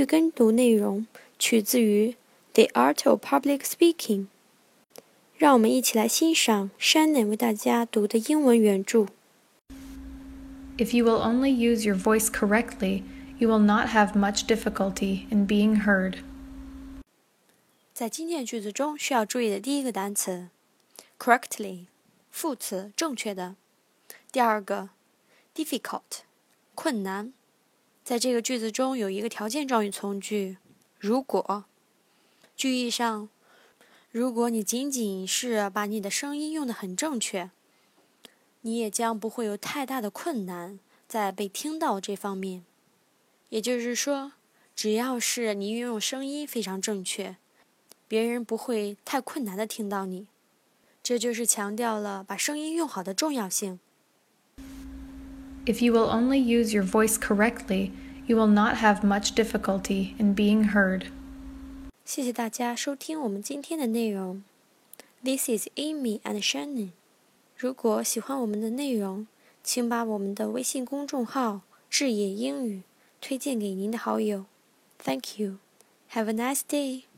跟读内容取自于《The Art of Public Speaking》。让我们一起来欣赏 Shannon 为大家读的英文原著。 If you will only use your voice correctly, you will not have much difficulty in being heard. 在今天的句子中需要注意的第一个单词 correctly 副词正确的。第二个 difficult 困难。在这个句子中有一个条件状语从句如果。句意上，如果你仅仅是把你的声音用得很正确，你也将不会有太大的困难在被听到这方面。也就是说，只要是你运用声音非常正确，别人不会太困难地听到你。这就是强调了把声音用好的重要性。 If you will only use your voice correctly, you will not have much difficulty in being heard. 谢谢大家收听我们今天的内容。This is Amy and Shannon. 如果喜欢我们的内容，请把我们的微信公众号“智野英语”推荐给您的好友。Thank you. Have a nice day.